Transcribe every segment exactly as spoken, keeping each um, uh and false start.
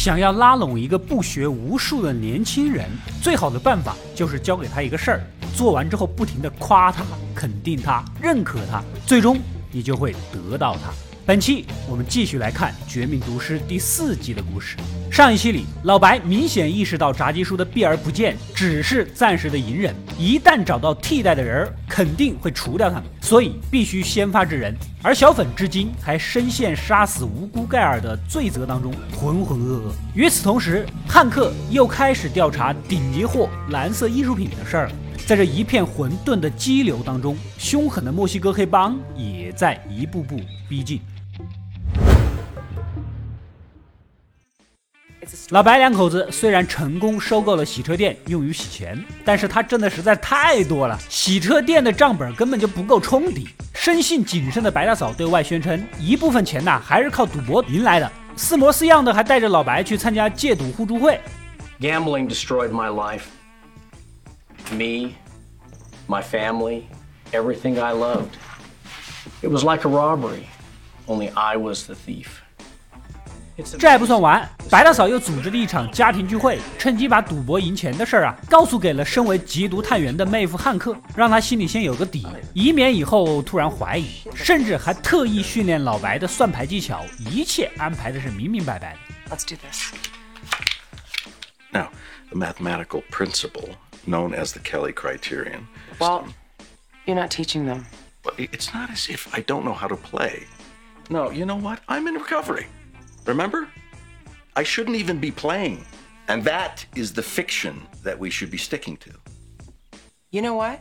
想要拉拢一个不学无术的年轻人，最好的办法就是教给他一个事儿，做完之后不停地夸他、肯定他、认可他，最终你就会得到他。本期我们继续来看《绝命毒师》第四集的故事。上一期里，老白明显意识到炸鸡叔的避而不见只是暂时的隐忍，一旦找到替代的人，肯定会除掉他们，所以必须先发制人。而小粉至今还深陷杀死无辜盖尔的罪责当中，浑浑噩噩。与此同时，汉克又开始调查顶级货蓝色艺术品的事儿了。在这一片混沌的激流当中，凶狠的墨西哥黑帮也在一步步逼近。老白两口子虽然成功收购了洗车店用于洗钱，但是他挣的实在太多了，洗车店的账本根本就不够冲抵。生性谨慎的白大嫂对外宣称，一部分钱呐还是靠赌博赢来的，似模似样的还带着老白去参加戒赌互助会。 Gambling destroyed my life, me, my family, everything I loved. It was like a robbery, only I was the thief. 这还不算完，白大嫂又组织了一场家庭聚会，趁机把赌博赢钱的事儿啊告诉给了身为缉毒探员的妹夫汉克，让他心里先有个底，以免以后突然怀疑，甚至还特意训练老白的算牌技巧，一切安排的是明明白白的。 Let's do this. Now, the mathematical principle known as the Kelly criterion. Well, you're not teaching them. But it's not as if I don't know how to play. No, you know what? I'm in recovery.Remember? I shouldn't even be playing. And that is the fiction that we should be sticking to. You know what?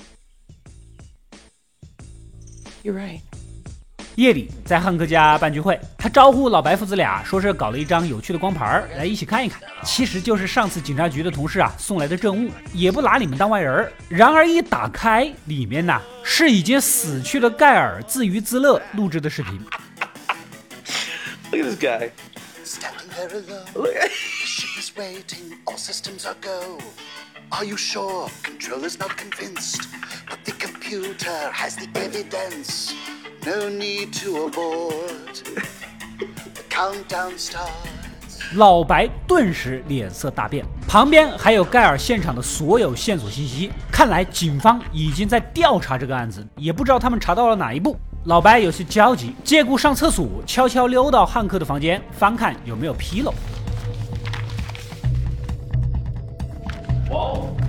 You're right. 夜里在汉克家办聚会，他招呼老白父子俩，说是搞了一张有趣的光盘来一起看一看，其实就是上次警察局的同事啊送来的证物，也不拿你们当外人。然而一打开，里面呐是已经死去的盖尔自娱自乐录制的视频。 Look at this guy. Standing there alone. Look at the ship is waiting. All systems are go. Are you sure? Controller's not convinced. But the computer has the evidence. No need to abort. The countdown starts. 老白顿时脸色大变，旁边还有盖尔现场的所有线索信息，看来警方已经在调查这个案子，也不知道他们查到了哪一步。老白有些焦急，借故上厕所，悄悄溜到汉克的房间，翻看有没有纰漏。 Whoa.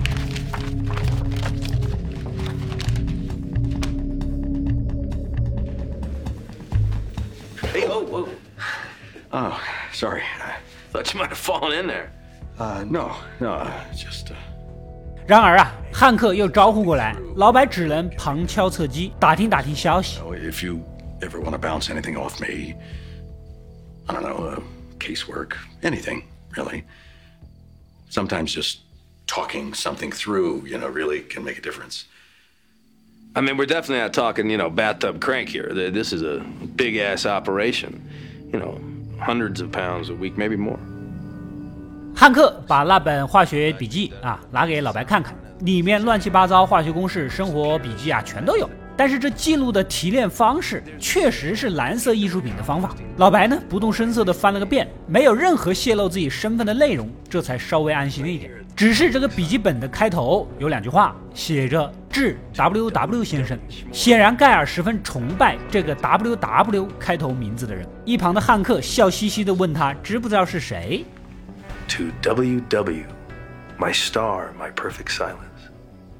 Hey, oh, whoa. Oh, sorry. Thought you might have fallen in there. Uh, no, no, just, uh... 然而啊，汉克又招呼过来，老白只能旁敲侧击，打听打听消息。 If you ever want to bounce anything off me, I don't know, uh, casework, anything, really. Sometimes just talking something through, you know, really can make a difference. I mean, we're definitely not talking, you know, bathtub crank here. This is a big-ass operation. You know, hundreds of pounds a week, maybe more. 汉克把那本化学笔记啊拿给老白看看，里面乱七八糟化学公式、生活笔记啊全都有。但是这记录的提炼方式确实是蓝色艺术品的方法。老白呢不动声色地翻了个遍，没有任何泄露自己身份的内容，这才稍微安心了一点。只是这个笔记本的开头有两句话，写着致 W W 先生。显然盖尔十分崇拜这个 W W 开头名字的人。一旁的汉克笑嘻嘻地问他知不知道是谁。 To W W, my star, my perfect silence.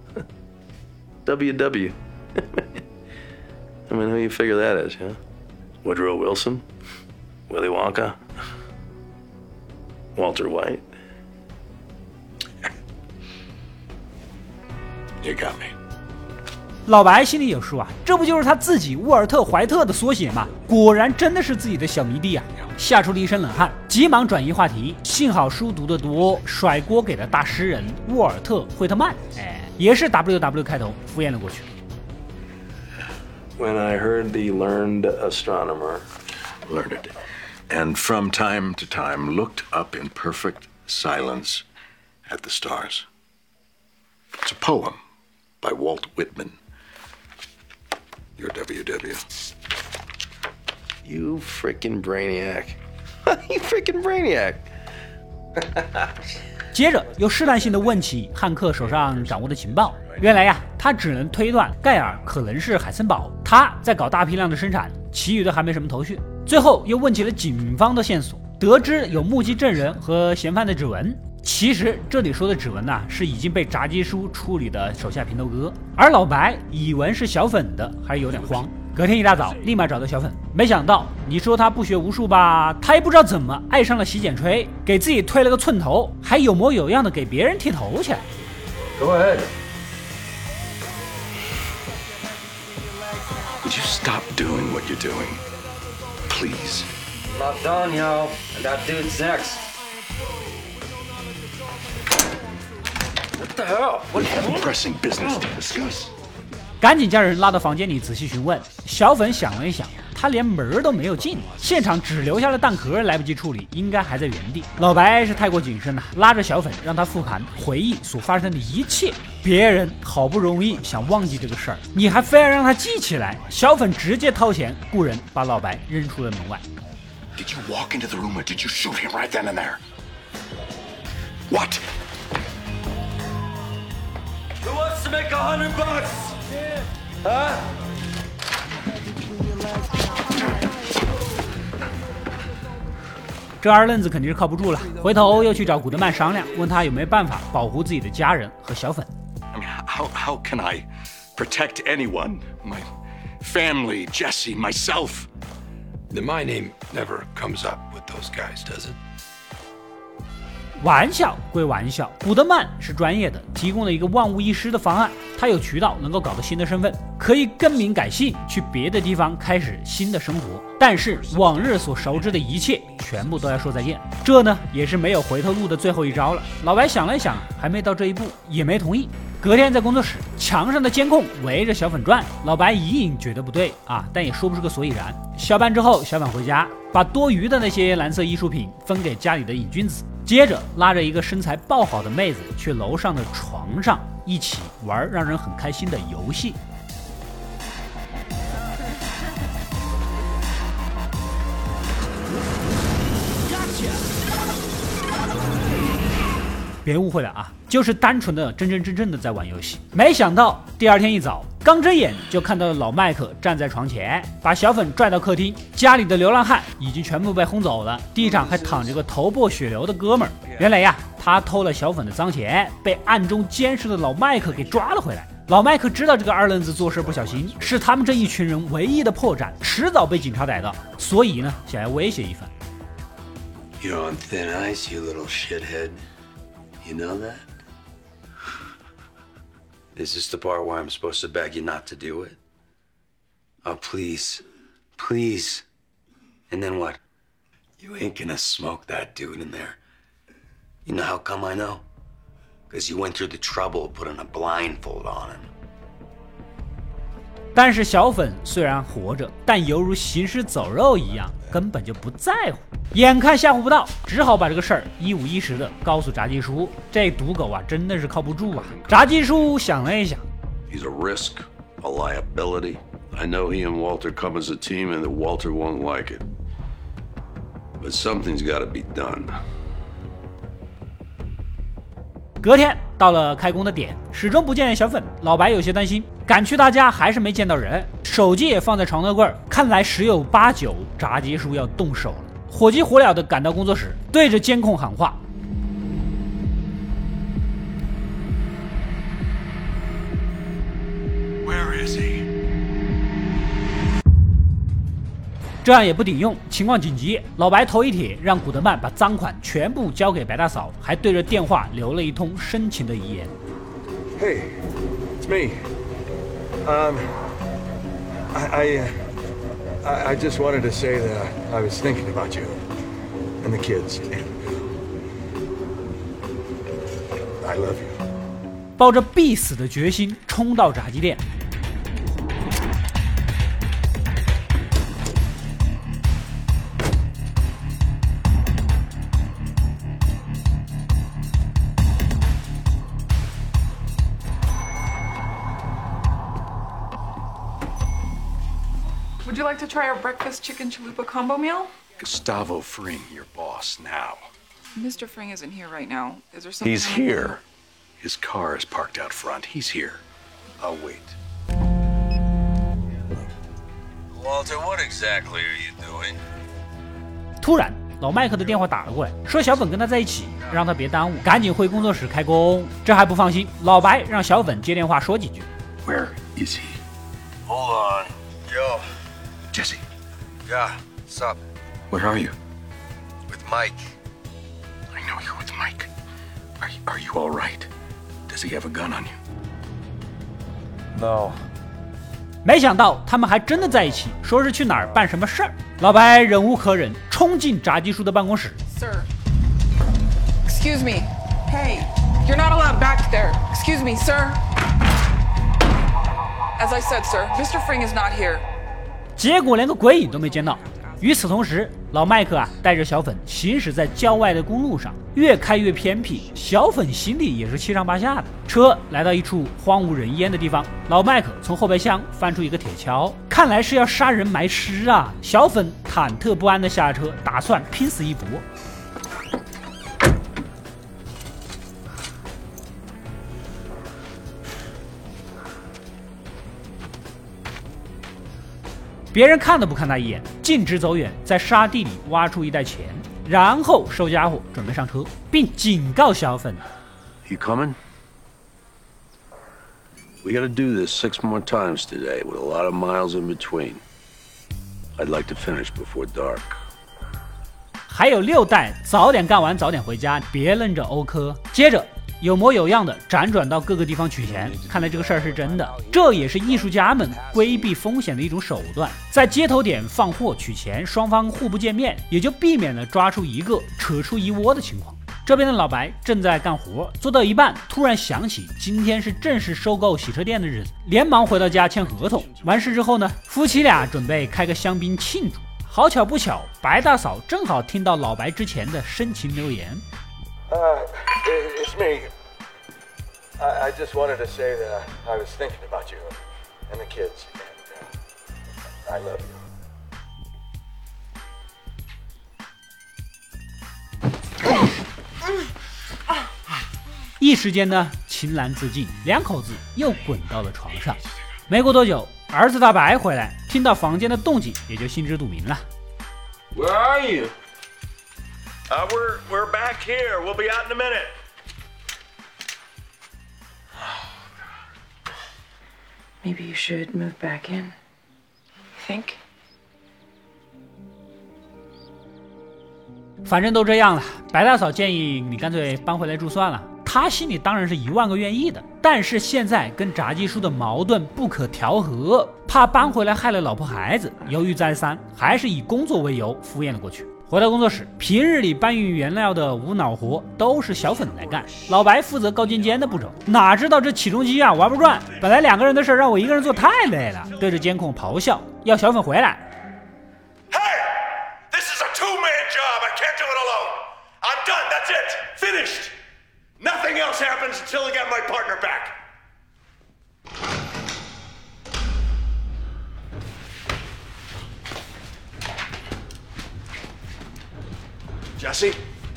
W W. I mean, who you figure that is, huh? Woodrow Wilson? Willy Wonka? Walter White? You got me. 老白心里有数啊，这不就是他自己沃尔特怀特的缩写吗？果然真的是自己的小迷弟啊！吓出了一身冷汗，急忙转移话题。幸好书读得多，甩锅给了大诗人沃尔特惠特曼，哎，也是 W W 开头，敷衍了过去。 When I heard the learned astronomer, Learned, and from time to time looked up in perfect silence at the stars. It's a poem by Walt Whitman. Your W W. You frickin' brainiac. You frickin' brainiac. 接着又试探性地问起汉克手上掌握的情报。原来呀，他只能推断盖尔可能是海森堡，他在搞大批量的生产，其余的还没什么头绪。最后又问起了警方的线索，得知有目击证人和嫌犯的指纹。其实这里说的指纹呐、啊，是已经被炸鸡叔处理的手下平头哥，而老白以为是小粉的，还是有点慌。隔天一大早，立马找到小粉，没想到你说他不学无术吧，他也不知道怎么爱上了洗剪吹，给自己推了个寸头，还有模有样的给别人剃头去。 Go ahead. Would you stop doing what you're doing? Please. I'm not done, yo. I got dudes next. What the hell? We have pressing business to discuss. 赶紧将人拉到房间里仔细询问。小粉想了一想，他连门都没有进，现场只留下了弹壳，来不及处理，应该还在原地。老白是太过谨慎了，拉着小粉让他复盘回忆所发生的一切。别人好不容易想忘记这个事儿，你还非要让他记起来。小粉直接掏钱雇人把老白扔出了门外。 Did you walk into the room or did you shoot him right then and there? What? Who wants to make a hundred bucks? Huh? 这二愣子肯定是靠不住了，回头又去找古德曼商量，问他有没有办法保护自己的家人和小粉。 I mean, how, how can I protect anyone? My family, Jesse, myself. Then my name never comes up with those guys, does it? 玩笑归玩笑，古德曼是专业的，提供了一个万无一失的方案。他有渠道能够搞到新的身份，可以更名改姓，去别的地方开始新的生活。但是往日所熟知的一切，全部都要说再见。这呢，也是没有回头路的最后一招了。老白想了想，还没到这一步，也没同意。隔天在工作室，墙上的监控围着小粉转，老白隐隐觉得不对啊，但也说不出个所以然。下班之后，小粉回家，把多余的那些蓝色艺术品分给家里的瘾君子。 接着拉着一个身材爆好的妹子去楼上的床上一起玩让人很开心的游戏。别误会了啊，就是单纯的真真正正的在玩游戏。没想到第二天一早，刚睁眼就看到了老麦克站在床前，把小粉拽到客厅。家里的流浪汉已经全部被轰走了，地上还躺着个头破血流的哥们儿。原来呀，他偷了小粉的脏钱，被暗中监视的老麦克给抓了回来。老麦克知道这个二愣子做事不小心，是他们这一群人唯一的破绽，迟早被警察逮到，所以呢，想要威胁一番。 You're on thin ice, you little shithead. You know that? Is this the part where I'm supposed to beg you not to do it? Oh, please. Please. And then what? You ain't gonna smoke that dude in there. You know how come I know? Because you went through the trouble of putting a blindfold on him. 但是小粉虽然活着，但犹如行尸走肉一样，根本就不在乎。眼看吓唬不到，只好把这个事儿一五一十的告诉炸鸡叔。这赌狗啊，真的是靠不住啊！炸鸡叔想了一想 He's a risk, a liability. I know he and Walter come as a team and that Walter won't like it. But something's got to be done. 隔天到了开工的点，始终不见小粉，老白有些担心，赶去他家还是没见到人，手机也放在床头柜，看来十有八九炸鸡叔要动手了。火急火燎地赶到工作室，对着监控喊话 Where is he? 这样也不顶用，情况紧急，老白头一铁，让古德曼把赃款全部交给白大嫂，还对着电话留了一通深情的遗言。 Hey, it's me. Um, I, I, uh, I, I just wanted to say that I was thinking about you and the kids. I love you. 抱着必死的决心，冲到炸鸡店。 Would you like to try our breakfast chicken chalupa combo meal? Gustavo Fring, your boss now. Mister Fring isn't here right now. Is there something? He's here. His car is parked out front. He's here. I'll wait. Walter, what exactly are you doing? 突然，老麦克的电话打了过来，说小粉跟他在一起，让他别耽误，赶紧回工作室开工。这还不放心，老白让小粉接电话说几句。 Where is he? Hold on. Yo. Jesse. Yeah, what's up? Where are you? With Mike. I know you're with Mike. Are you, are you all right? Does he have a gun on you? No. 没想到他们还真的在一起，说是去哪儿办什么事儿。老白忍无可忍，冲进炸鸡叔的办公室。 Sir. Excuse me. Hey, you're not allowed back there. Excuse me, sir. As I said, sir, Mister Fring is not here. 结果连个鬼影都没见到。与此同时，老麦克啊带着小粉行驶在郊外的公路上，越开越偏僻，小粉心里也是七上八下的。车来到一处荒无人烟的地方，老麦克从后备箱翻出一个铁锹，看来是要杀人埋尸啊！小粉忐忑不安地下车，打算拼死一搏。别人看都不看他一眼，径直走远，在沙地里挖出一袋钱，然后收家伙，准备上车，并警告小粉 You coming? We gotta do this six more times today with a lot of miles in between. I'd like to finish before dark. 还有六袋，早点干完，早点回家，别愣着欧科。接着有模有样的辗转到各个地方取钱，看来这个事儿是真的。这也是艺术家们规避风险的一种手段，在接头点放货取钱，双方互不见面，也就避免了抓出一个扯出一窝的情况。这边的老白正在干活，做到一半，突然想起今天是正式收购洗车店的日子，连忙回到家签合同。完事之后呢，夫妻俩准备开个香槟庆祝。好巧不巧，白大嫂正好听到老白之前的深情留言。 Uh, it's me. I, I just wanted to say that I was thinking about you and the kids, and uh, I love you. 一时间呢，情难自禁，两口子又滚到了床上。没过多久，儿子大白回来，听到房间的动静，也就心知肚明了。 Where are you? Uh, we're we're back here. We'll be out in a minute. Maybe you should move back in. Think? 反正都这样了，白大嫂建议你干脆搬回来住算了。他心里当然是一万个愿意的，但是现在跟炸鸡叔的矛盾不可调和，怕搬回来害了老婆孩子，犹豫再三，还是以工作为由敷衍了过去。回到工作室，平日里搬运原料的无脑活都是小粉来干，老白负责高尖尖的步骤。哪知道这起重机啊玩不转，本来两个人的事让我一个人做太累了，对着监控咆哮，要小粉回来。 Hey, this is a two-man job. I can't do it alone. I'm done. That's it. Finished. Nothing else happens until I get my partner back. Jesse?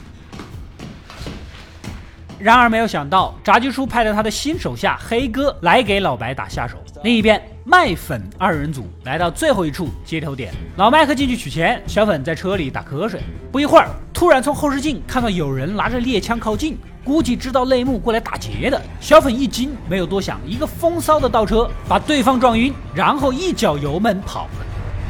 然而没有想到，炸鸡叔派了他的新手下黑哥来给老白打下手。另一边，麦粉二人组来到最后一处接头点，老麦克进去取钱，小粉在车里打瞌睡。不一会儿，突然从后视镜看到有人拿着猎枪靠近，估计知道内幕过来打劫的。小粉一惊，没有多想，一个风骚的倒车把对方撞晕，然后一脚油门跑了。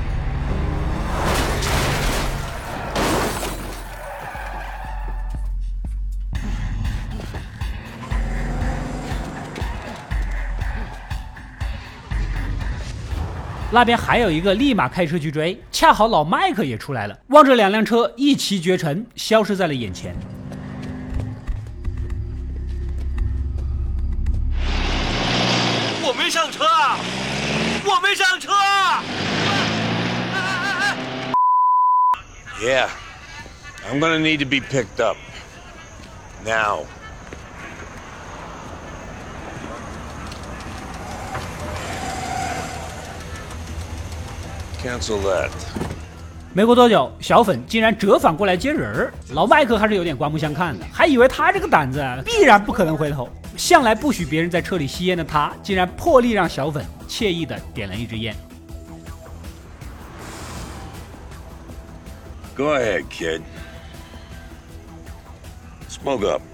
那边还有一个立马开车去追，恰好老麦克也出来了，望着两辆车一骑绝尘，消失在了眼前。 我没上车啊！我没上车啊 ！Yeah, I'm gonna need to be picked up now. Cancel that. 没过多久，小粉竟然折返过来接人儿，老麦克还是有点刮目相看的，还以为他这个胆子必然不可能回头。向来不许别人在车里吸烟的他，竟然破例让小粉惬意的点了一支烟。 Go ahead, kid. Smoke up.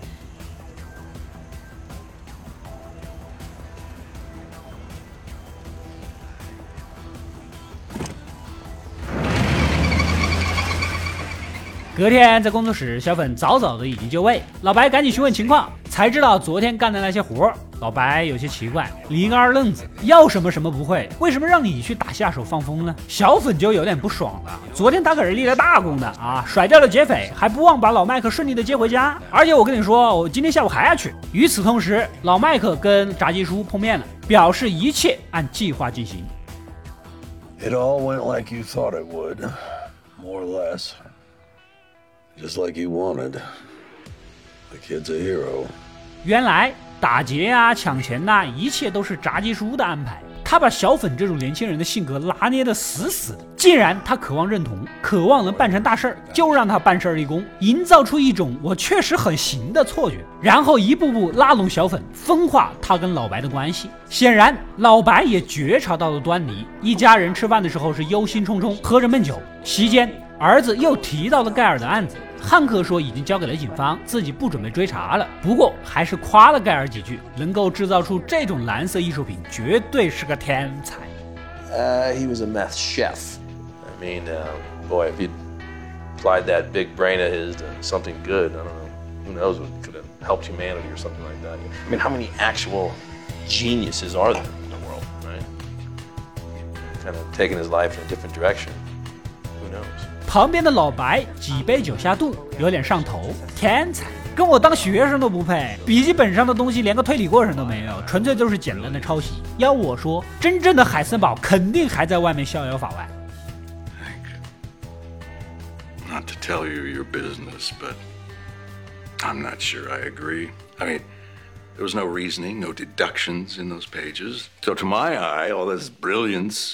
隔天在工作室，小粉早早的已经就位，老白赶紧询问情况，才知道昨天干的那些活。老白有些奇怪，理个二愣子，要什么什么不会，为什么让你去打下手放风呢？小粉就有点不爽了，昨天他可是立了大功的啊，甩掉了劫匪，还不忘把老麦克顺利的接回家，而且我跟你说，我今天下午还要去。与此同时，老麦克跟炸鸡叔碰面了，表示一切按计划进行。 It all went like you thought it would, more or less. Just like you wanted. The kid's a hero. 原来打劫啊、抢钱呐、啊，一切都是炸鸡叔的安排。他把小粉这种年轻人的性格拿捏得死死的。既然他渴望认同，渴望能办成大事儿，就让他办事儿立功，营造出一种我确实很行的错觉，然后一步步拉拢小粉，分化他跟老白的关系。显然，老白也觉察到了端倪。一家人吃饭的时候是忧心忡忡，喝着闷酒。席间，儿子又提到了盖尔的案子。汉克说已经交给了警方，自己不准备追查了。不过还是夸了盖尔几句，能够制造出这种蓝色艺术品，绝对是个天才。 Uh, he was a meth chef. I mean, uh, boy, if he'd applied that big brain of his to something good, I don't know, who knows what could have helped humanity or something like that. I mean, how many actual geniuses are there in the world, right? Kind of taking his life in a different direction. Who knows? 旁边的老白几杯酒下肚，有点上头。天才，跟我当学生都不配。笔记本上的东西连个推理过程都没有，纯粹就是简单的抄袭。要我说，真正的海森堡肯定还在外面逍遥法外。 Not to tell you your business, but I'm not sure I agree. I mean, there was no reasoning, no deductions in those pages. So to my eye, all this brilliance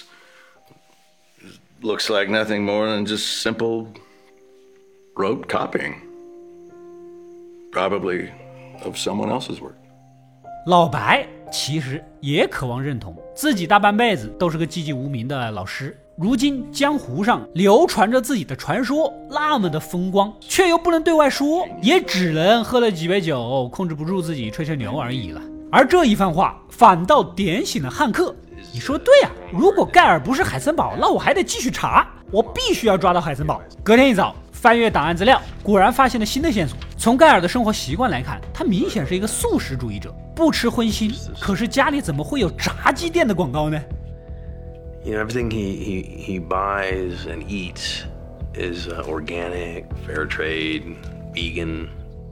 looks like nothing more than just simple rote copying. Probably of someone else's work. 老白其实也渴望认同，自己大半辈子都是个寂寂无名的老师，如今江湖上流传着自己的传说，那么的风光，却又不能对外说，也只能喝了几杯酒，控制不住自己吹吹牛而已了。而这一番话反倒点醒了汉克。你说对啊，如果盖尔不是海森堡，那我还得继续查，我必须要抓到海森堡。隔天一早，翻阅档案资料，果然发现了新的线索。从盖尔的生活习惯来看，他明显是一个素食主义者，不吃荤腥。可是家里怎么会有炸鸡店的广告呢？ You know, everything he he he buys and eats is uh, organic, fair trade, vegan.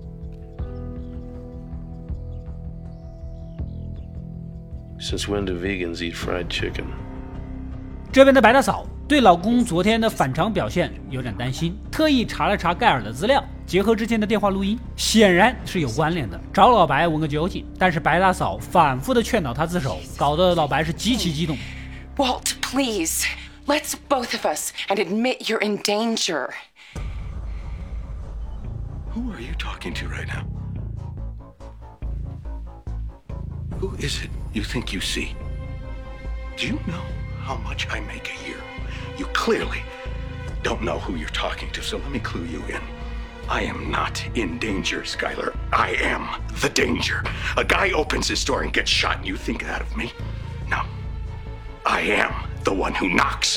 Since when do vegans eat fried chicken? 这边的白大嫂对老公昨天的反常表现有点担心，特意查了查盖尔的资料，结合之前的电话录音，显然是有关联的，找老白问个究竟。但是白大嫂反复的劝导他自首，搞得老白是极其激动。 Walt, please, let's both of us and admit you're in danger. Who are you talking to right now? Who is it you think you see? Do you know how much I make a year? You clearly don't know who you're talking to, so let me clue you in. I am not in danger, Skylar. I am the danger. A guy opens his door and gets shot, and you think that of me? No. I am the one who knocks.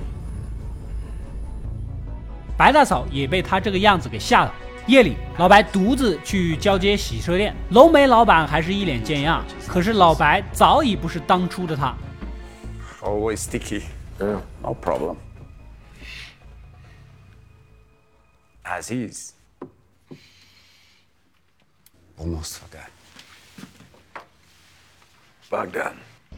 白大嫂也被他这个样子给吓到。夜里，老白独自去交接洗车店，浓眉老板还是一脸贱样，可是老白早已不是当初的他。 Always sticky. Yeah, no problem. As is. Almost forgot. Bogdan.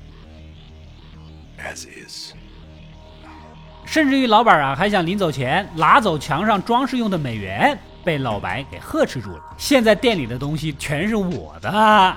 As is. 甚至于老板啊，还想临走前拿走墙上装饰用的美元，被老白给呵斥住了。现在店里的东西全是我的。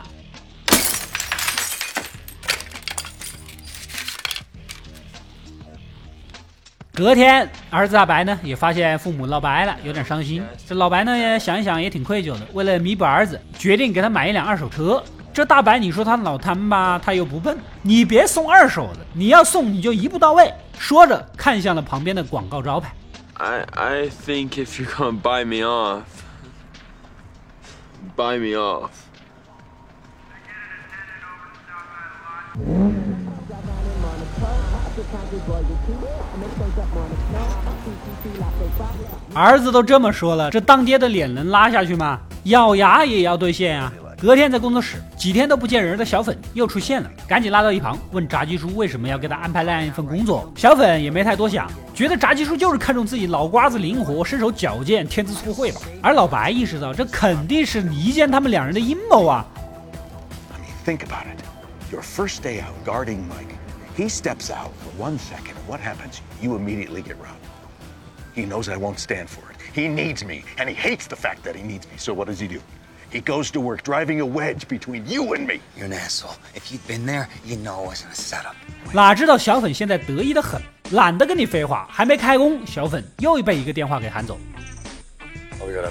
隔天，儿子大白呢也发现父母闹掰了，有点伤心。这老白呢也想一想，也挺愧疚的，为了弥补儿子，决定给他买一辆二手车。这大白，你说他脑瘫吧，他又不笨，你别送二手的，你要送你就一步到位。说着，看向了旁边的广告招牌。 I I think if you're gonna buy me off, buy me off. 儿子都这么说了，这当爹的脸能拉下去吗？咬牙也要兑现啊！隔天在工作室，几天都不见人的小粉又出现了，赶紧拉到一旁问炸鸡叔为什么要给他安排那样一份工作。小粉也没太多想，觉得炸鸡叔就是看中自己脑瓜子灵活、身手矫健、天资聪慧吧。而老白意识到这肯定是离间他们两人的阴谋啊。 I mean, think about it. Your first day out guarding Mike. He steps out for one second. What happens? You immediately get robbed. He knows I won't stand for it. He needs me, and he hates the fact that he needs me. So what does he do? He goes to work driving a wedge between you and me. You're an asshole. If you'd been there, you know it wasn't a setup. 哪知道小粉现在得意的很，懒得跟你废话，还没开工，小粉又被一个电话给喊走。 Oh, we got up.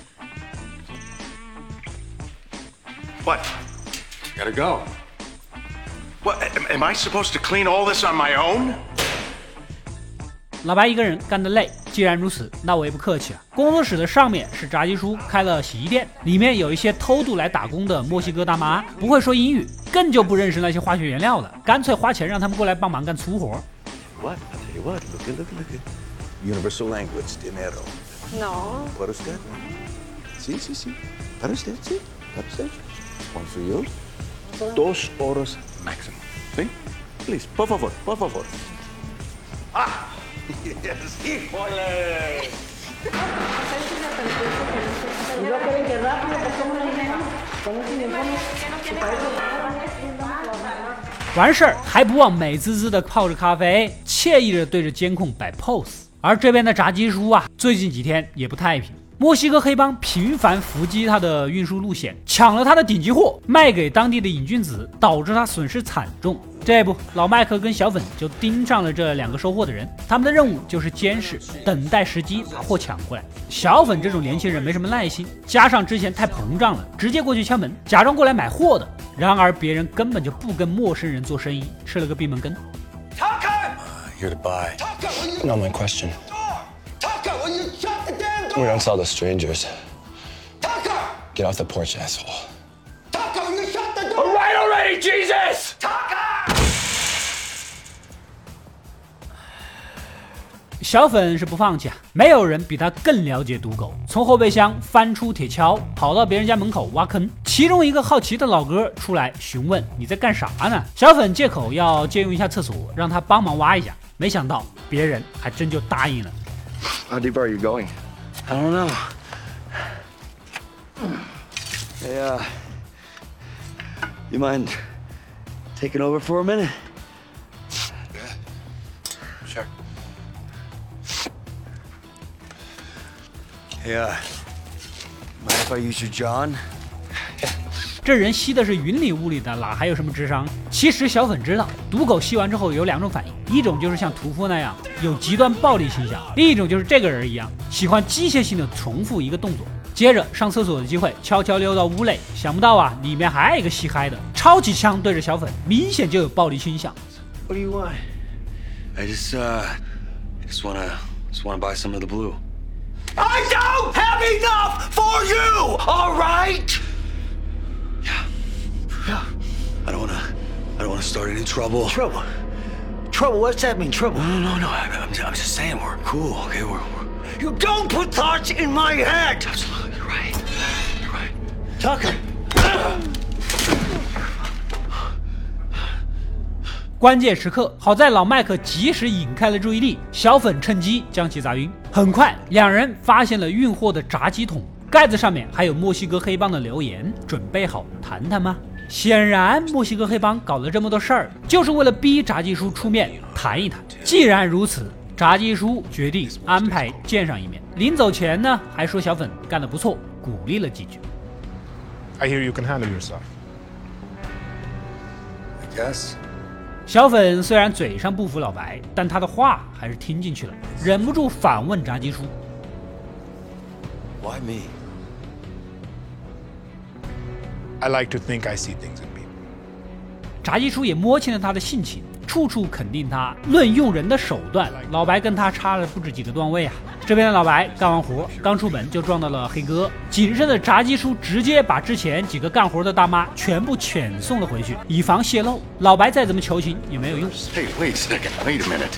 What? Gotta go. What? Am, am I supposed to clean all this on my own? 老白一个人干得累，既然如此，那我也不客气啊。工作室的上面是炸鸡叔开了洗衣店，里面有一些偷渡来打工的墨西哥大妈，不会说英语，更就不认识那些化学原料了，干脆花钱让他们过来帮忙干粗活。 What? I'll tell you what. Look at, look at, look at. Universal language, dinero. No. Para usted. Sí, sí, sí. Para usted, sí. Para usted. One for you. Dos horas máximo. ¿Sí? Please, por favor, por favor. Ah! Yes, híjole! 完事儿还不忘美滋滋的泡着咖啡，惬意的对着监控摆 pose。而这边的炸鸡叔啊，最近几天也不太平。墨西哥黑帮频繁伏击他的运输路线，抢了他的顶级货，卖给当地的瘾君子，导致他损失惨重。这不，老麦克跟小粉就盯上了这两个收货的人，他们的任务就是监视，等待时机把货抢过来。小粉这种年轻人没什么耐心，加上之前太膨胀了，直接过去敲门，假装过来买货的。然而别人根本就不跟陌生人做生意，吃了个闭门羹。 Uh, here to buy. Not my question. Tucker, will you shut the damn door? We don't sell to strangers. Tucker! Get off the porch, asshole. Tucker, will you shut the door? All right already, Jesus! Tucker! 小粉是不放弃啊，没有人比他更了解赌狗。从后备箱翻出铁锹，跑到别人家门口挖坑。其中一个好奇的老哥出来询问：“你在干啥呢？”小粉借口要借用一下厕所，让他帮忙挖一下。没想到别人还真就答应了。 How deep are you going? I don't know. Hey, uh, you mind taking over for a minute? Sure. Hey, uh, mind if I use your John? 这人吸的是云里雾里的，哪还有什么智商？其实小粉知道，赌狗吸完之后有两种反应，一种就是像屠夫那样有极端暴力倾向，另一种就是这个人一样喜欢机械性的重复一个动作。接着上厕所的机会，悄悄溜到屋内，想不到啊，里面还有一个吸嗨的，抄起枪对着小粉，明显就有暴力倾向。 What do you want? I just, uh, I just wanna, just wanna buy some of the blue. I don't have enough for you, all right? Yeah. I don't wanna, I don't wanna start any trouble. Trouble? Trouble? What's that mean, trouble? No, no, no, no. I, I'm, I'm just saying we're cool, okay? We're, we're... You don't put thoughts in my head! Absolutely, you're right. You're right. Tucker! 关键时刻，好在老麦克及时引开了注意力，小粉趁机将其砸晕。很快，两人发现了运货的炸鸡桶，盖子上面还有墨西哥黑帮的留言，准备好谈谈吗？显然，墨西哥黑帮搞了这么多事儿，就是为了逼炸鸡叔出面谈一谈。既然如此，炸鸡叔决定安排见上一面。临走前呢，还说小粉干得不错，鼓励了几句。 I hear you can handle yourself. I guess. 小粉虽然嘴上不服老白，但他的话还是听进去了，忍不住反问炸鸡叔 Why me? I like to think I see things in people. 炸鸡叔也摸清了他的性情，处处肯定他。论用人的手段，老白跟他差了不止几个段位啊。这边的老白干完活，刚出门就撞到了黑哥。谨慎的炸鸡叔直接把之前几个干活的大妈全部遣送了回去，以防泄露。老白再怎么求情也没有用。 Hey, wait a second. Wait a minute.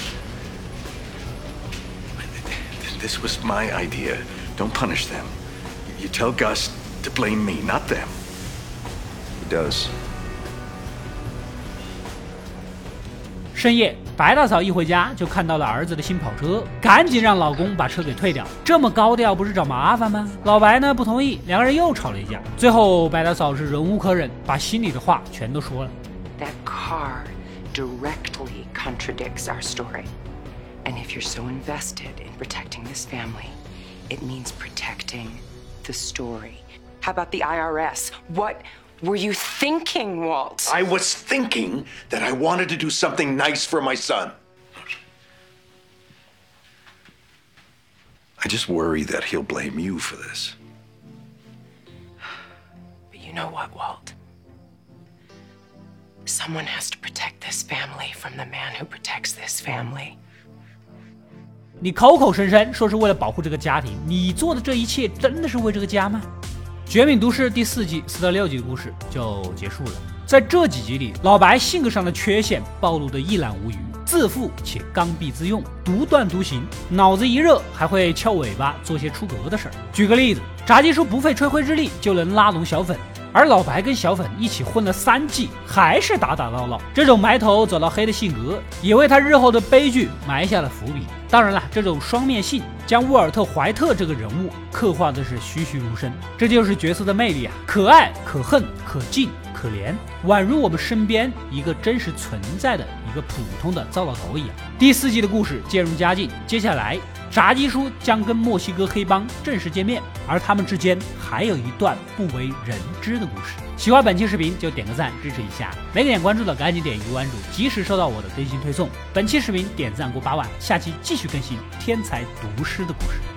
This was my idea. Don't punish them. You tell Gus to blame me, not them. He does. 深夜，白大嫂一回家就看到了儿子的新跑车，赶紧让老公把车给退掉。这么高调不是找麻烦吗？老白呢不同意，两个人又吵了一架。最后白大嫂是忍无可忍，把心里的话全都说了。 That car directly contradicts our story. And if you're so invested in protecting this family, it means protecting the story. How about the I R S? What were you thinking, Walt? I was thinking that I wanted to do something nice for my son. I just worry that he'll blame you for this. But you know what, Walt? Someone has to protect this family from the man who protects this family. 你口口声声说是为了保护这个家庭，你做的这一切真的是为这个家吗？《绝命毒师》第四季四到六集的故事就结束了。在这几集里，老白性格上的缺陷暴露得一览无余，自负且刚愎自用，独断独行，脑子一热还会翘尾巴做些出格的事儿。举个例子，炸鸡叔不费吹灰之力就能拉拢小粉，而老白跟小粉一起混了三季，还是打打闹闹。这种埋头走到黑的性格，也为他日后的悲剧埋下了伏笔。当然了，这种双面性将沃尔特·怀特这个人物刻画的是栩栩如生，这就是角色的魅力啊！可爱、可恨、可敬、可怜，宛如我们身边一个真实存在的一个普通的糟老头一样。第四季的故事渐入佳境，接下来炸鸡叔将跟墨西哥黑帮正式见面，而他们之间还有一段不为人知的故事。喜欢本期视频就点个赞支持一下，没点关注的赶紧点一个关注，及时收到我的更新推送。本期视频点赞过八万，下期继续更新天才毒师的故事。